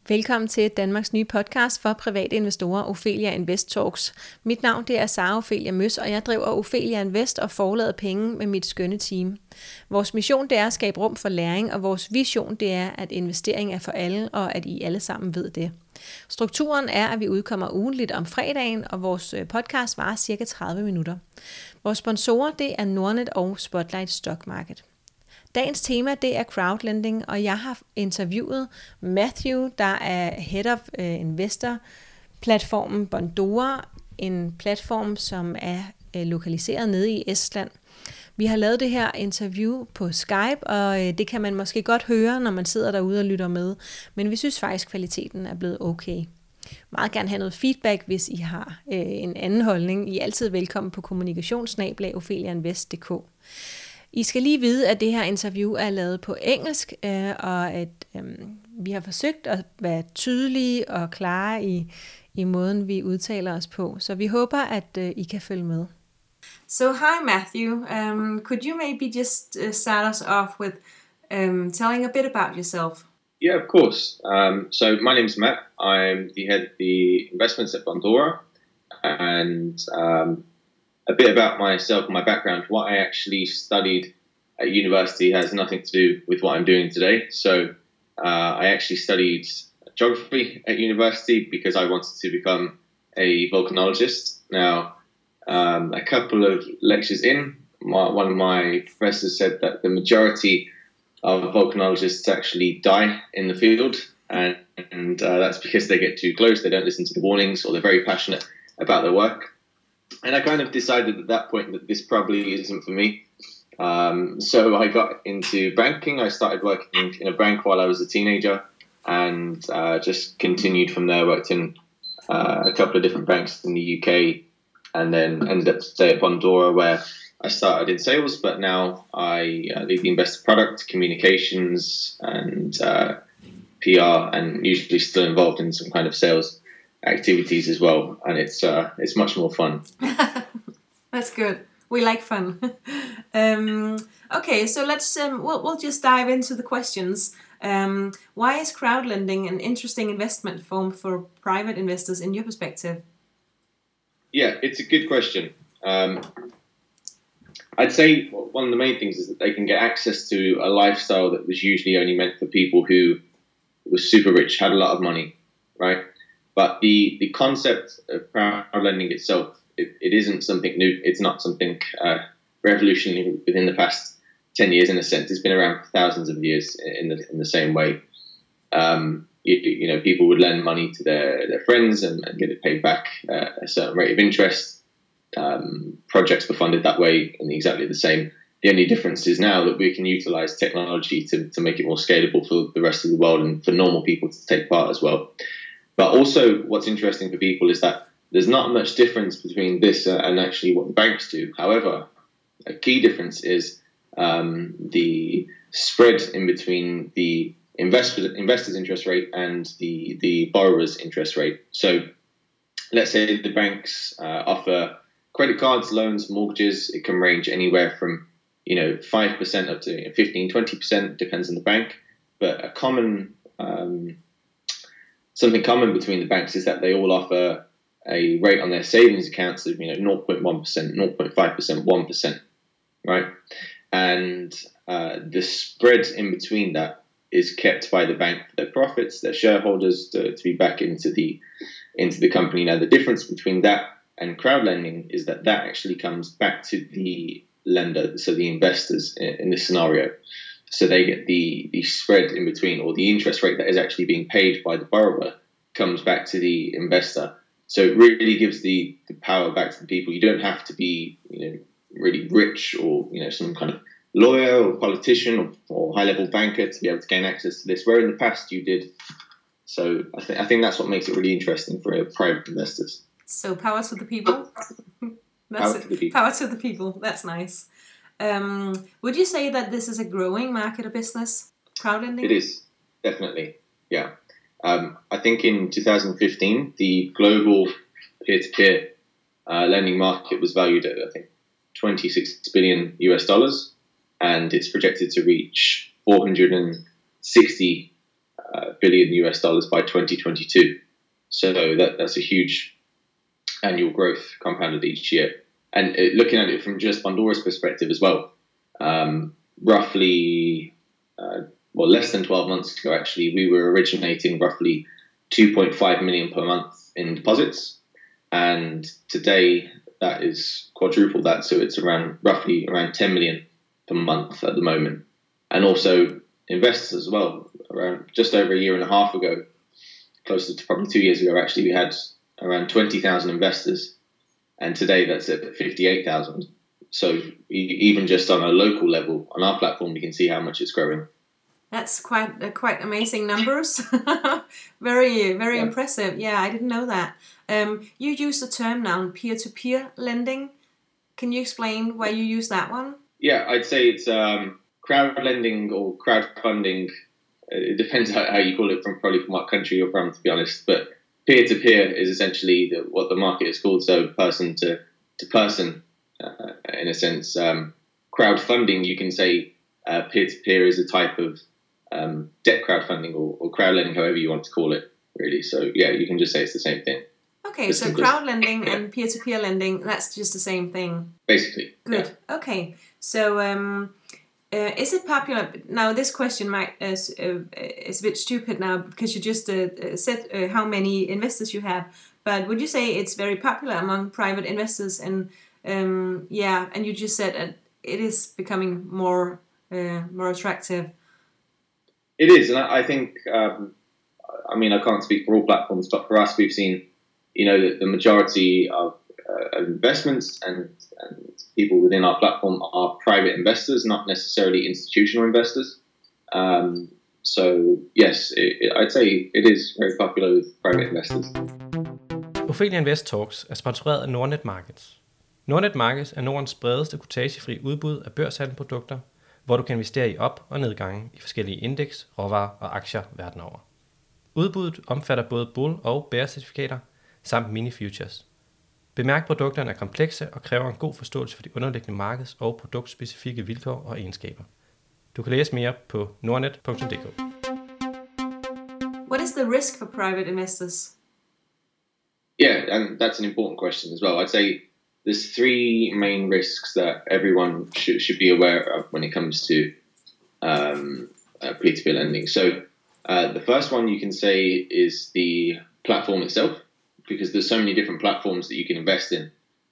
Velkommen til Danmarks nye podcast for private investorer, Ophelia Invest Talks. Mit navn det er Sara Ophelia Møs, og jeg driver Ophelia Invest og forlader penge med mit skønne team. Vores mission det er at skabe rum for læring, og vores vision det er, at investering er for alle, og at I alle sammen ved det. Strukturen er, at vi udkommer ugentligt om fredagen, og vores podcast varer cirka 30 minutter. Vores sponsorer det er Nordnet og Spotlight Stock Market. Dagens tema det er crowdlending, og jeg har interviewet Matthew, der er Head of Investor-platformen Bondora, en platform, som er lokaliseret nede i Estland. Vi har lavet det her interview på Skype, og det kan man måske godt høre, når man sidder derude og lytter med, men vi synes faktisk, kvaliteten er blevet okay. Meget gerne have noget feedback, hvis I har en anden holdning. I er altid velkommen på kommunikation@opheliainvest.dk. I skal lige vide, at det her interview er lavet på engelsk, og at vi har forsøgt at være tydelige og klare i måden, vi udtaler os på. Så vi håber, at I kan følge med. So hi Matthew, could you maybe just start us off with telling a bit about yourself? Yeah, of course. So my name's Matt. I'm the head of the investments at Bondora, and a bit about myself and my background. What I actually studied at university has nothing to do with what I'm doing today. So I actually studied geography at university because I wanted to become a volcanologist. Now, a couple of lectures in, one of my professors said that the majority of volcanologists actually die in the field, and that's because they get too close, they don't listen to the warnings, or they're very passionate about their work. And I kind of decided at that point that this probably isn't for me. So I got into banking. I started working in a bank while I was a teenager, and just continued from there. Worked in a couple of different banks in the UK, and then ended up today at Bondora, where I started in sales, but now I lead the investor product, communications, and PR, and usually still involved in some kind of sales activities as well, and it's much more fun. That's good. We like fun. Okay, so let's we'll just dive into the questions. Why is crowdlending an interesting investment form for private investors in your perspective? Yeah, it's a good question. I'd say one of the main things is that they can get access to a lifestyle that was usually only meant for people who were super rich, had a lot of money, right? But the concept of crowdlending itself, it isn't something new. It's not something revolutionary within the past 10 years in a sense. It's been around for thousands of years in the same way. You know, people would lend money to their friends and get it paid back at a certain rate of interest. Projects were funded that way in exactly the same. The only difference is now that we can utilize technology to make it more scalable for the rest of the world and for normal people to take part as well. But also what's interesting for people is that there's not much difference between this and actually what the banks do. However, a key difference is the spread in between the investor's interest rate and the borrower's interest rate. So let's say the banks offer credit cards, loans, mortgages. It can range anywhere from 5% up to 15-20%, depends on the bank. But something common between the banks is that they all offer a rate on their savings accounts of 0.1%, 0.5%, 1%, right? And the spread in between that is kept by the bank for their profits, their shareholders to be back into the company. Now, the difference between that and crowdlending is that actually comes back to the lender, so the investors in this scenario. So they get the spread in between, or the interest rate that is actually being paid by the borrower comes back to the investor. So it really gives the power back to the people. You don't have to be really rich or some kind of lawyer or politician or high-level banker to be able to gain access to this, where in the past you did. So I think that's what makes it really interesting for private investors. So power to the people. Power to the people. Power to the people. That's nice. Would you say that this is a growing market or business, crowdlending? It is, definitely, yeah. I think in 2015, the global peer-to-peer lending market was valued at, I think, $26 billion US, and it's projected to reach 460 billion US dollars by 2022. So that's a huge annual growth compounded each year. And looking at it from just Bondora's perspective as well, roughly, less than 12 months ago, actually, we were originating roughly 2.5 million per month in deposits. And today that is quadrupled that. So it's roughly around 10 million per month at the moment. And also investors as well. Around just over a year and a half ago, closer to probably 2 years ago, actually, we had around 20,000 investors. And today that's at 58,000. So even just on a local level, on our platform, you can see how much it's growing. That's quite amazing numbers. Very impressive. Yeah, I didn't know that. You use the term now, peer-to-peer lending. Can you explain why you use that one? Yeah, I'd say it's crowd lending or crowdfunding. It depends how you call it, from what country you're from, to be honest. But peer-to-peer is essentially what the market is called, so person to person, in a sense. Crowdfunding, you can say peer-to-peer is a type of debt crowdfunding or crowd lending, however you want to call it, really. So, yeah, you can just say it's the same thing. Okay, so crowd lending and peer-to-peer lending, that's just the same thing? Basically. Good. Yeah. Okay, so is it popular? Now, this question is a bit stupid now because you just said how many investors you have. But would you say it's very popular among private investors? And and you just said it is becoming more attractive. It is, and I think. I can't speak for all platforms, but for us, we've seen, the majority of investments and people within our platform are private investors, not necessarily institutional investors. So yes, I'd say it is very popular with private investors. Ophelia Invest Talks er sponsoreret af Nordnet Markets. Nordnet Markets er Nordens bredeste kotagefri udbud af børshandelsprodukter, hvor du kan investere i op- og nedgange i forskellige indeks, råvarer og aktier verden over. Udbuddet omfatter både bull- og bear-certifikater samt mini-futures. Bemærk, produkterne er komplekse og kræver en god forståelse for de underliggende markeds- og produktspecifikke vilkår og egenskaber. Du kan læse mere på nordnet.dk. What is the risk for private investors? Yeah, and that's an important question as well. I'd say there's three main risks that everyone should be aware of when it comes to peer-to-peer lending. So the first one you can say is the platform itself, because there's so many different platforms that you can invest in.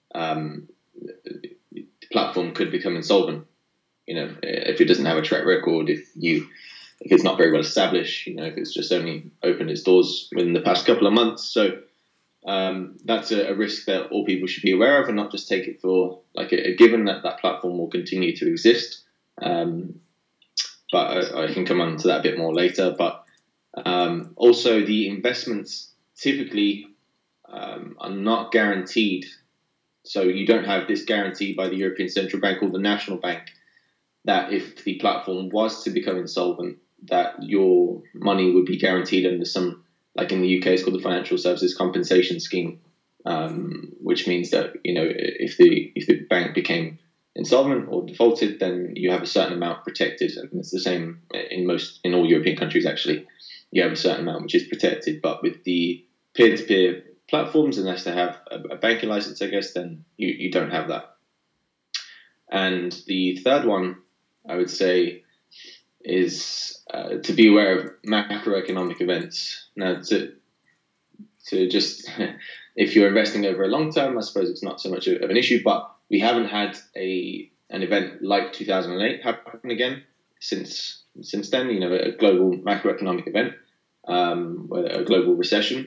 The platform could become insolvent, if it doesn't have a track record, if it's not very well established, if it's just only opened its doors within the past couple of months. So that's a risk that all people should be aware of, and not just take it for like a given that platform will continue to exist. But I can come on to that a bit more later. But also the investments typically are not guaranteed. So you don't have this guarantee by the European Central Bank or the National Bank that if the platform was to become insolvent, that your money would be guaranteed under some, like in the UK, it's called the Financial Services Compensation Scheme, which means that, if the bank became insolvent or defaulted, then you have a certain amount protected. And it's the same in all European countries, actually. You have a certain amount which is protected. But with the peer-to-peer platforms, unless they have a banking license, I guess, then you don't have that. And the third one, I would say, is to be aware of macroeconomic events. Now, to just, if you're investing over a long term, I suppose it's not so much of an issue, but we haven't had an event like 2008 happen again since then, a global macroeconomic event, a global recession.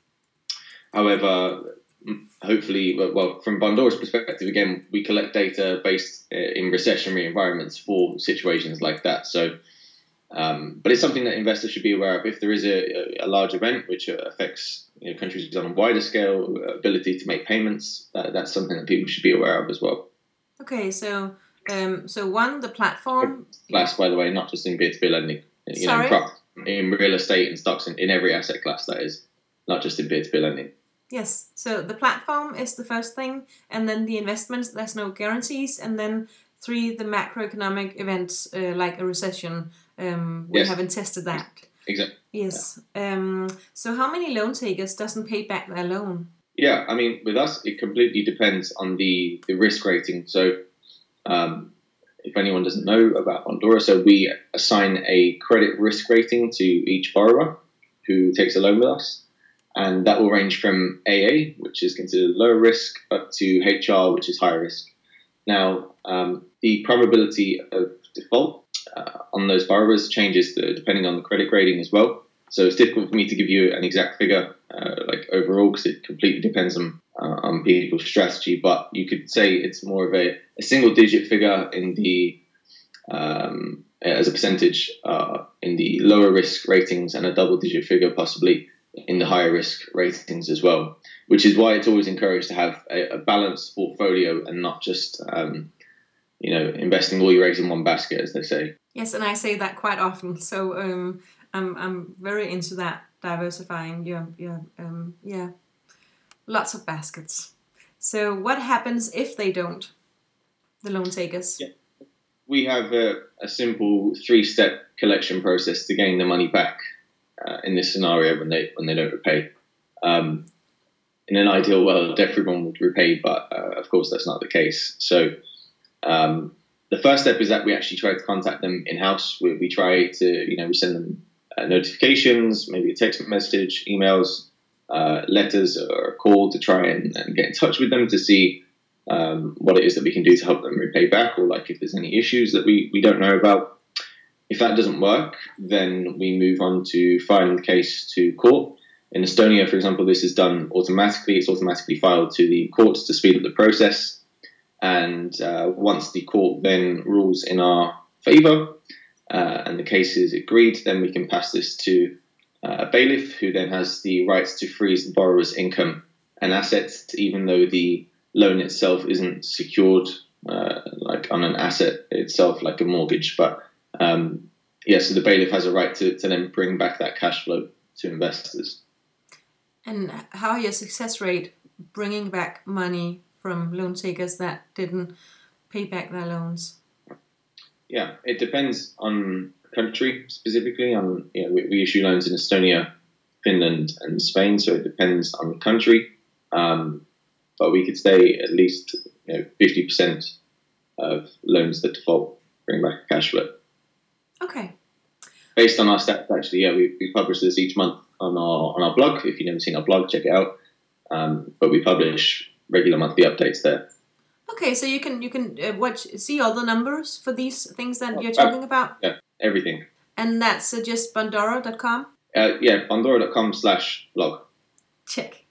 However, hopefully, from Bondora's perspective, again, we collect data based in recessionary environments for situations like that. So, but it's something that investors should be aware of. If there is a large event which affects countries on a wider scale, ability to make payments, that's something that people should be aware of as well. Okay, so the platform. Class, by the way, not just in peer-to-peer lending. Sorry? In real estate and stocks, in every asset class, that is, not just in peer-to-peer lending. Yes, so the platform is the first thing, and then the investments, there's no guarantees, and then 3, the macroeconomic events like a recession. We haven't tested that. Exactly. Yes. So how many loan takers doesn't pay back their loan? Yeah, I mean, with us, it completely depends on the risk rating. So, if anyone doesn't know about Bondora, so we assign a credit risk rating to each borrower who takes a loan with us. And that will range from AA, which is considered low risk, up to HR, which is high risk. Now, the probability of default on those borrowers changes depending on the credit grading as well. So it's difficult for me to give you an exact figure, like overall, because it completely depends on people's strategy. But you could say it's more of a single-digit figure in the as a percentage in the lower risk ratings, and a double-digit figure possibly in the higher risk ratings as well. Which is why it's always encouraged to have a balanced portfolio and not just investing all your eggs in one basket, as they say. Yes, and I say that quite often. So I'm very into that, diversifying your lots of baskets. So what happens if they don't, the loan takers? Yeah. We have a simple 3-step collection process to gain the money back in this scenario when they don't repay. In an ideal world, everyone would repay, but of course that's not the case. So the first step is that we actually try to contact them in-house. We try to, we send them notifications, maybe a text message, emails, letters, or a call to try and get in touch with them to see what it is that we can do to help them repay back, or like if there's any issues that we don't know about. If that doesn't work, then we move on to filing the case to court. In Estonia, for example, this is done automatically. It's automatically filed to the courts to speed up the process. And once the court then rules in our favour and the case is agreed, then we can pass this to a bailiff, who then has the rights to freeze the borrower's income and assets, even though the loan itself isn't secured like on an asset itself, like a mortgage. But so the bailiff has a right to then bring back that cash flow to investors. And how are your success rate bringing back money from loan takers that didn't pay back their loans? Yeah, it depends on country specifically. We issue loans in Estonia, Finland, and Spain, so it depends on the country. But we could say at least 50% of loans that default bring back cash flow. Okay. Based on our stats, actually, we publish this each month on our blog. If you've never seen our blog, check it out. But we publish regular monthly updates there. Okay, so you can see all the numbers for these things that you're talking about? Yeah, everything. And that's just Bondora.com? Bondora.com/blog. Check.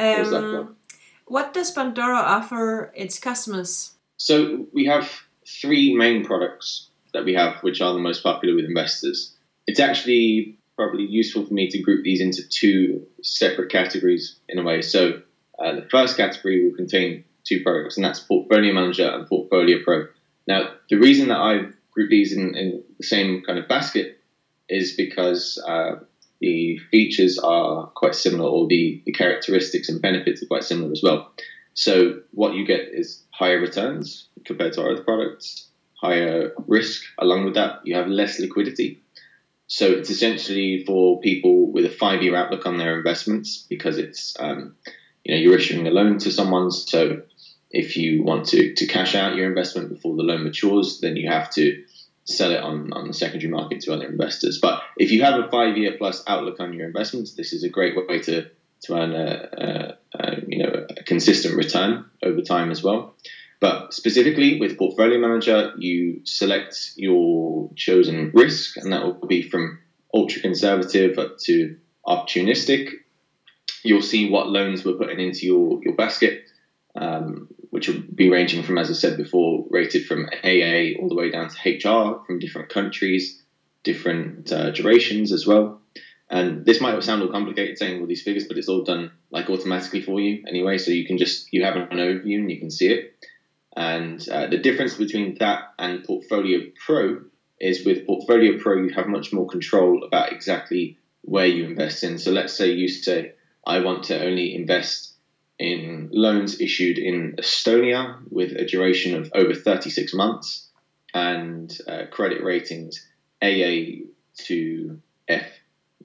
What does Bondora offer its customers? So we have 3 main products that we have, which are the most popular with investors. It's actually probably useful for me to group these into 2 separate categories in a way. So the first category will contain 2 products, and that's Portfolio Manager and Portfolio Pro. Now, the reason that I've grouped these in the same kind of basket is because the features are quite similar, or the characteristics and benefits are quite similar as well. So what you get is higher returns compared to our other products, higher risk. Along with that, you have less liquidity. So it's essentially for people with a 5-year outlook on their investments, because it's you're issuing a loan to someone. So if you want to cash out your investment before the loan matures, then you have to sell it on the secondary market to other investors. But if you have a 5-year plus outlook on your investments, this is a great way to earn a consistent return over time as well. But specifically with Portfolio Manager, you select your chosen risk, and that will be from ultra conservative up to opportunistic. You'll see what loans we're putting into your basket, which will be ranging from, as I said before, rated from AA all the way down to HR, from different countries, different durations as well. And this might sound all complicated saying all these figures, but it's all done like automatically for you anyway. So you have an overview and you can see it. And the difference between that and Portfolio Pro is with Portfolio Pro, you have much more control about exactly where you invest in. So let's say you say, I want to only invest in loans issued in Estonia with a duration of over 36 months and credit ratings AA to F.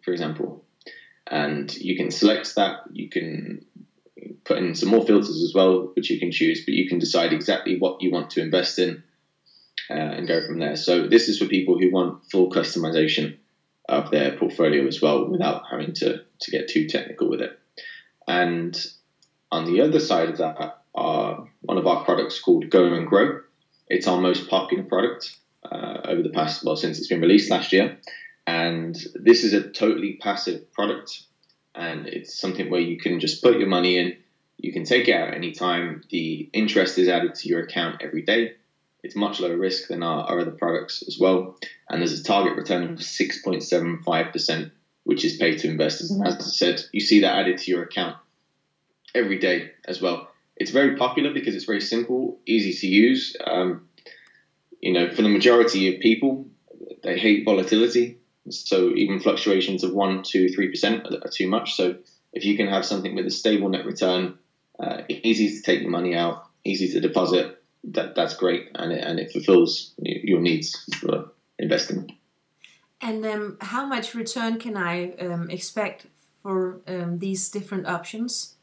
for example. And you can select that. You can put in some more filters as well, which you can choose, but you can decide exactly what you want to invest in and go from there. So this is for people who want full customization of their portfolio as well, without having to get too technical with it. And on the other side of that are one of our products called Go and Grow. It's our most popular product over the past, since it's been released last year. And this is a totally passive product, and it's something where you can just put your money in, you can take it out any time. The interest is added to your account every day. It's much lower risk than our other products as well. And there's a target return of 6.75%, which is paid to investors. And as I said, you see that added to your account every day as well. It's very popular because it's very simple, easy to use. For the majority of people, they hate volatility. So even fluctuations of 1%, 2%, 3% are too much. So if you can have something with a stable net return, easy to take your money out, easy to deposit, that's great, and it fulfills your needs for investing. And how much return can I expect for these different options?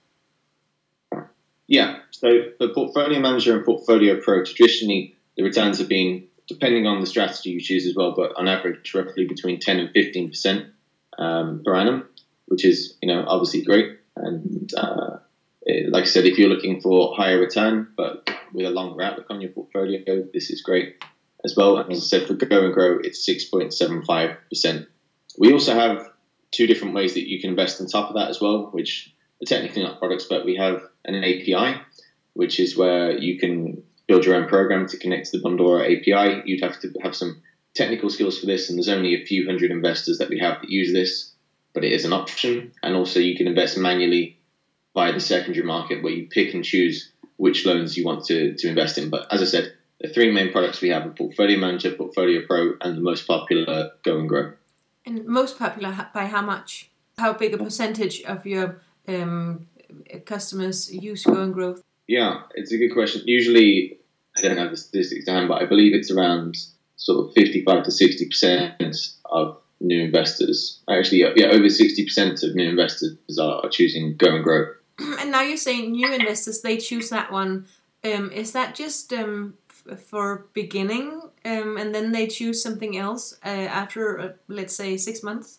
Yeah, so for Portfolio Manager and Portfolio Pro, traditionally the returns have been, depending on the strategy you choose as well, but on average roughly between 10 and 15% per annum, which is obviously great. And like I said, if you're looking for higher return but with a longer outlook on your portfolio, this is great as well. And as I said, for Go and Grow, it's 6.75%. We also have two different ways that you can invest on top of that as well, which are technically not products, but we have an API, which is where you can build your own program to connect to the Bondora API. You'd have to have some technical skills for this, and there's only a few hundred investors that we have that use this, but it is an option. And also you can invest manually via the secondary market, where you pick and choose which loans you want to invest in. But as I said, the three main products we have are Portfolio Manager, Portfolio Pro, and the most popular, Go and Grow. And most popular by how much? How big a percentage of your customers use Go and Grow? Yeah, it's a good question. Usually, I don't have the statistics down, but I believe it's around sort of 55 to 60% of new investors. Actually, over 60% of new investors are choosing Go and Grow. And now you're saying new investors, they choose that one. Is that just for beginning, and then they choose something else after, let's say, 6 months?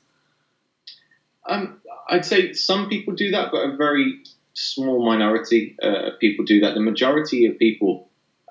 I'd say some people do that, but a very small minority of people do that. The majority of people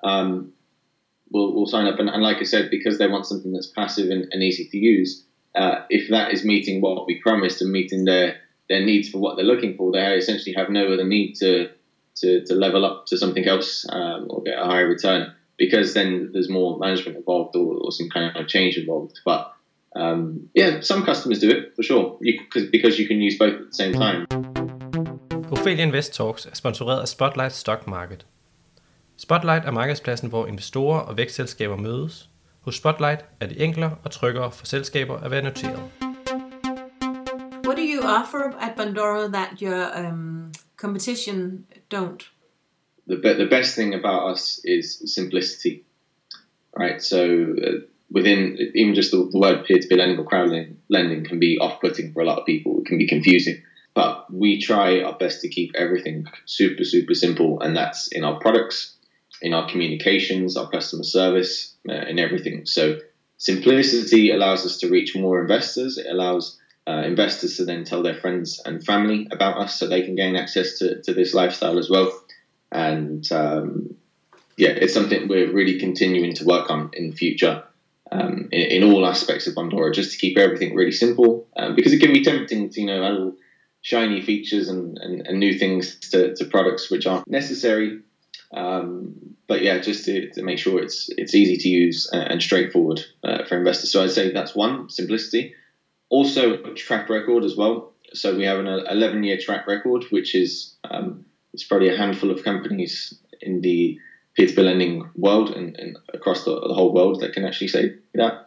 will sign up, and like I said, because they want something that's passive and easy to use. If that is meeting what we promised and meeting their needs for what they're looking for, they essentially have no other need to level up to something else or get a higher return, because then there's more management involved or some kind of change involved. But some customers do it for sure, because you can use both at the same time. Ophelia Invest Talks er sponsoreret af Spotlight Stock Market. Spotlight er markedspladsen, hvor investorer og vækstselskaber mødes. Hos Spotlight er det enklere og tryggere for selskaber at være noteret. What do you offer at Bondora that your competition don't? The best thing about us is simplicity, right? So within even just the word peer-to-peer lending or crowd lending can be off-putting for a lot of people. It can be confusing, but we try our best to keep everything super, super simple, and that's in our products, in our communications, our customer service, in everything. So simplicity allows us to reach more investors. It allows investors to then tell their friends and family about us, so they can gain access to this lifestyle as well. And it's something we're really continuing to work on in the future, in all aspects of Bondora, just to keep everything really simple, because it can be tempting to add shiny features and new things to products which aren't necessary. But just to make sure it's easy to use and straightforward for investors. So I'd say that's one, simplicity. Also, track record as well. So we have an 11-year track record, which is it's probably a handful of companies in the peer-to-peer lending world and across the whole world that can actually say that.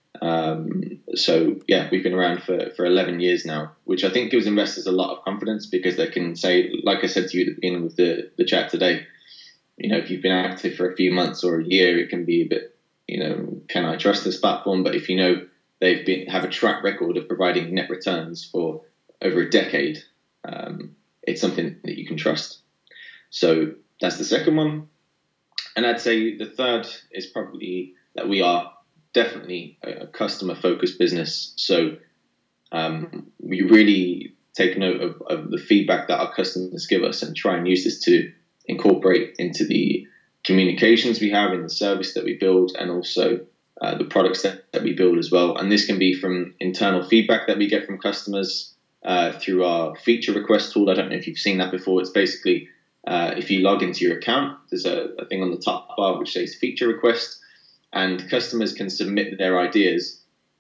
We've been around for 11 years now, which I think gives investors a lot of confidence, because they can say, like I said to you at the beginning of the chat today, if you've been active for a few months or a year, it can be a bit, can I trust this platform? But if you know have a track record of providing net returns for over a decade. It's something that you can trust. So that's the second one. And I'd say the third is probably that we are definitely a customer-focused business. So we really take note of the feedback that our customers give us and try and use this to incorporate into the communications we have in the service that we build, and also the products that we build as well. And this can be from internal feedback that we get from customers through our feature request tool. I don't know if you've seen that before. It's basically if you log into your account, there's a thing on the top bar which says feature request, and customers can submit their ideas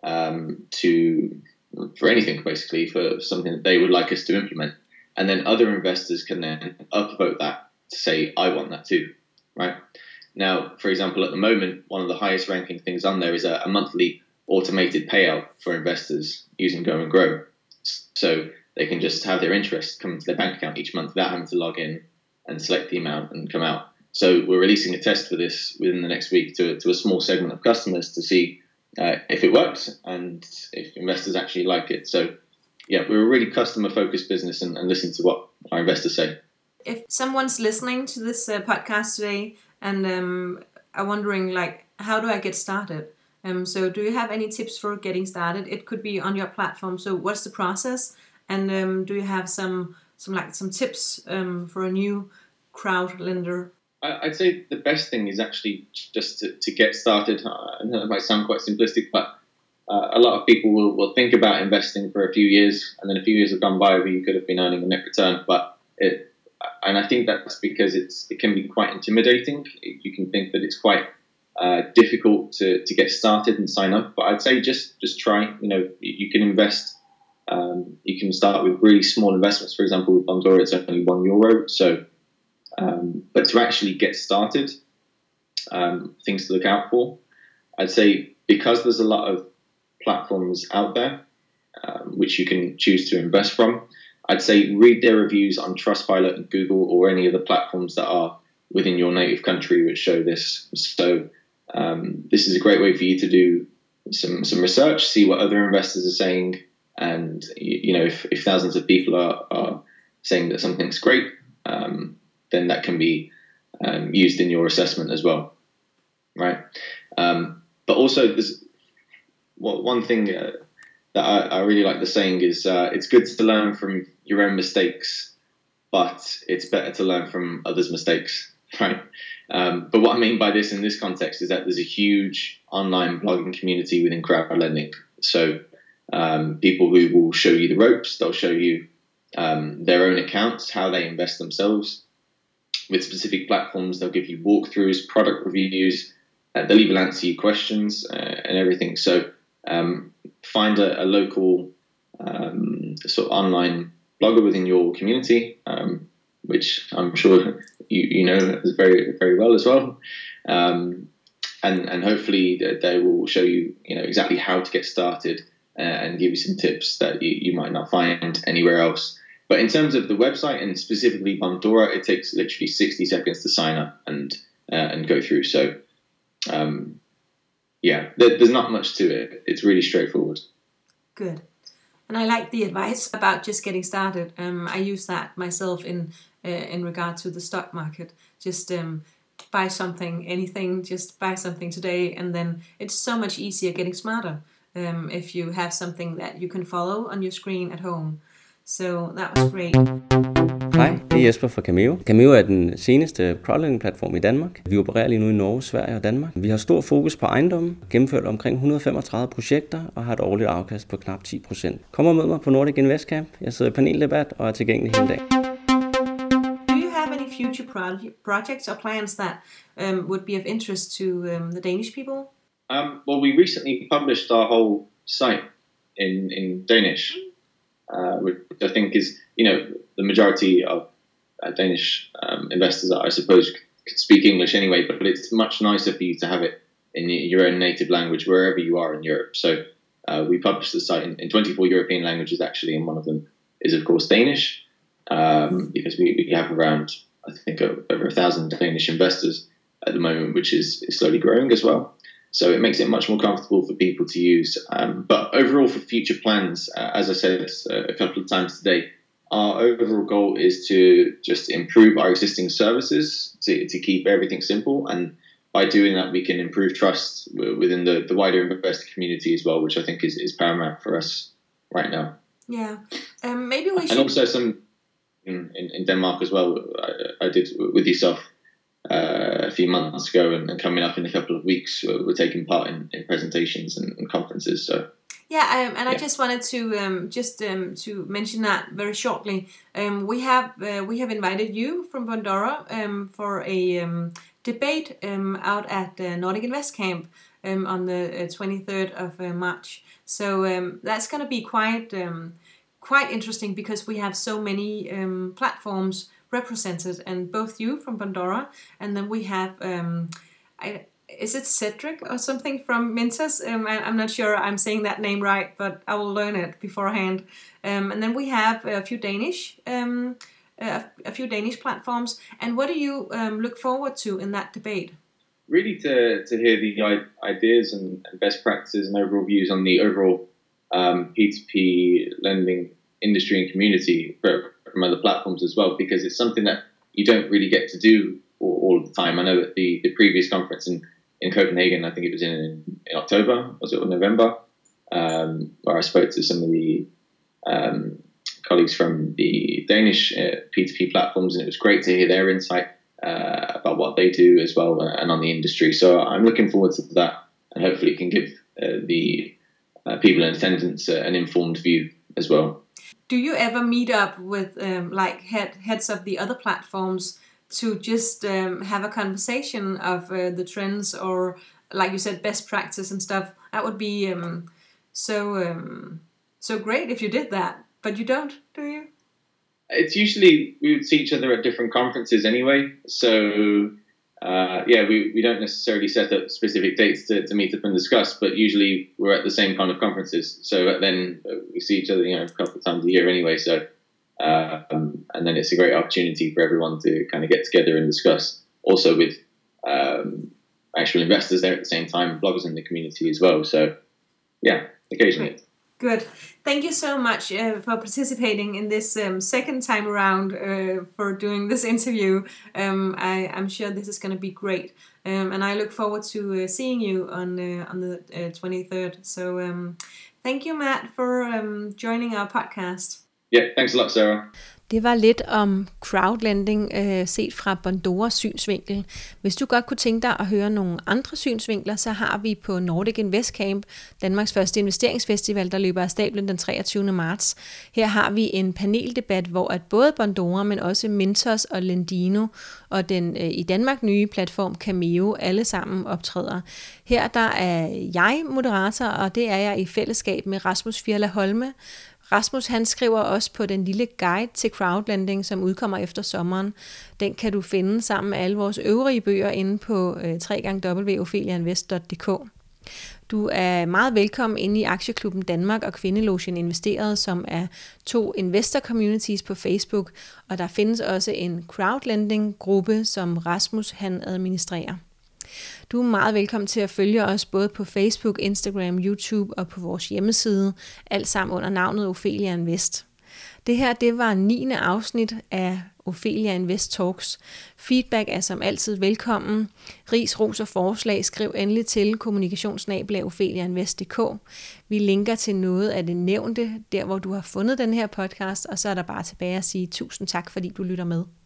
for anything, basically, for something that they would like us to implement. And then other investors can then upvote that to say, I want that too, right? Now, for example, at the moment, one of the highest ranking things on there is a monthly automated payout for investors using Go and Grow. So they can just have their interest come into their bank account each month without having to log in and select the amount and come out. So we're releasing a test for this within the next week to a small segment of customers to see if it works and if investors actually like it. So yeah, we're a really customer-focused business and listen to what our investors say. If someone's listening to this podcast today and are wondering, like, how do I get started? So do you have any tips for getting started? It could be on your platform. So what's the process? And do you have some tips for a new crowd lender? I'd say the best thing is actually just to get started. I know it might sound quite simplistic, but a lot of people will think about investing for a few years, and then a few years have gone by where you could have been earning a net return. And I think that's because it can be quite intimidating. You can think that it's quite difficult to get started and sign up. But I'd say just try. You can invest. You can start with really small investments. For example, with Bondora, it's only €1. So, but to actually get started, things to look out for. I'd say because there's a lot of platforms out there which you can choose to invest from, I'd say read their reviews on Trustpilot and Google or any of the platforms that are within your native country which show this. So this is a great way for you to do some research, see what other investors are saying, and if thousands of people are saying that something's great, then that can be used in your assessment as well, right? But also, there's one thing that I really like the saying is it's good to learn from your own mistakes, but it's better to learn from others' mistakes, right? But what I mean by this in this context is that there's a huge online blogging community within crowd lending. So people who will show you the ropes, they'll show you their own accounts, how they invest themselves with specific platforms. They'll give you walkthroughs, product reviews, they'll even answer you questions and everything. So find a local sort of online blogger within your community, which I'm sure you know very, very well as well. And hopefully they will show you, exactly how to get started and give you some tips that you might not find anywhere else. But in terms of the website and specifically Bondora, it takes literally 60 seconds to sign up and go through. So there's not much to it. It's really straightforward. Good. And I like the advice about just getting started. I use that myself in regard to the stock market. Just buy something, anything, just buy something today, and then it's so much easier getting smarter if you have something that you can follow on your screen at home. So that was great. Hej, det er Jesper fra Cameo. Cameo er den seneste crowdlending-platform i Danmark. Vi opererer lige nu i Norge, Sverige og Danmark. Vi har stor fokus på ejendomme, gennemført omkring 135 projekter og har et årligt afkast på knap 10%. Kom og mød mig på Nordic Invest Camp. Jeg sidder i paneldebat og er tilgængelig hele dagen. Do you have any future projects or plans that would be of interest to the Danish people? Well, we recently published our whole site in Danish. Which I think is, the majority of Danish investors, I suppose, could speak English anyway, but it's much nicer for you to have it in your own native language wherever you are in Europe. So we published the site in 24 European languages, actually, and one of them is, of course, Danish, because we have around, I think, over 1,000 Danish investors at the moment, which is slowly growing as well. So it makes it much more comfortable for people to use. But overall, for future plans, as I said a couple of times today, our overall goal is to just improve our existing services to keep everything simple. And by doing that, we can improve trust within the wider investor community as well, which I think is paramount for us right now. Yeah. Maybe we should... And also some in Denmark as well. I did with yourself a few months ago, and coming up in a couple of weeks, we're taking part in presentations and conferences. So yeah, I just wanted to to mention that very shortly. We have invited you from Bondora for a debate out at Nordic Invest Camp on the 23rd of March. So that's going to be quite interesting, because we have so many platforms represented, and both you from Bondora, and then we have is it Cedric or something from Mintos? I'm not sure I'm saying that name right, but I will learn it beforehand. And then we have a few Danish platforms. And what do you look forward to in that debate? Really to hear the ideas and best practices and overall views on the overall P2P lending industry and community from other platforms as well, because it's something that you don't really get to do all of the time. I know that the previous conference in Copenhagen, I think it was in October, was it, or November, where I spoke to some of the colleagues from the Danish P2P platforms, and it was great to hear their insight about what they do as well, and on the industry. So I'm looking forward to that, and hopefully it can give the people in attendance an informed view as well. Do you ever meet up with heads of the other platforms to just have a conversation of the trends, or, like you said, best practice and stuff? That would be so great if you did that, but you don't, do you? It's usually we would see each other at different conferences anyway. So we don't necessarily set up specific dates to meet up and discuss, but usually we're at the same kind of conferences. So then we see each other, a couple of times a year anyway. So and then it's a great opportunity for everyone to kind of get together and discuss. Also with actual investors there at the same time, bloggers in the community as well. So yeah, occasionally. Good. Thank you so much for participating in this second time around for doing this interview. I'm sure this is going to be great, and I look forward to seeing you on the 23rd. So thank you, Matt, for joining our podcast. Yeah, thanks a lot, Sarah. Det var lidt om crowdlending set fra Bondoras synsvinkel. Hvis du godt kunne tænke dig at høre nogle andre synsvinkler, så har vi på Nordic Invest Camp, Danmarks første investeringsfestival, der løber af stablen den 23. marts. Her har vi en paneldebat, hvor at både Bondora, men også Mintos og Lendino og den i Danmark nye platform Cameo alle sammen optræder. Her der er jeg moderator, og det er jeg i fællesskab med Rasmus Firla Holme. Rasmus han skriver også på den lille guide til crowdlending, som udkommer efter sommeren. Den kan du finde sammen med alle vores øvrige bøger inde på www.opheliainvest.dk. Du er meget velkommen inde i Aktieklubben Danmark og Kvindelogen Investeret, som er 2 investor communities på Facebook, og der findes også en crowdlending-gruppe, som Rasmus han administrerer. Du er meget velkommen til at følge os både på Facebook, Instagram, YouTube og på vores hjemmeside, alt sammen under navnet Ophelia Invest. Det her, det var 9. afsnit af Ophelia Invest Talks. Feedback er som altid velkommen. Ris, ros og forslag skriv endelig til kommunikationsnabel@opheliainvest.dk. Vi linker til noget af det nævnte, der hvor du har fundet den her podcast, og så er der bare tilbage at sige tusind tak, fordi du lytter med.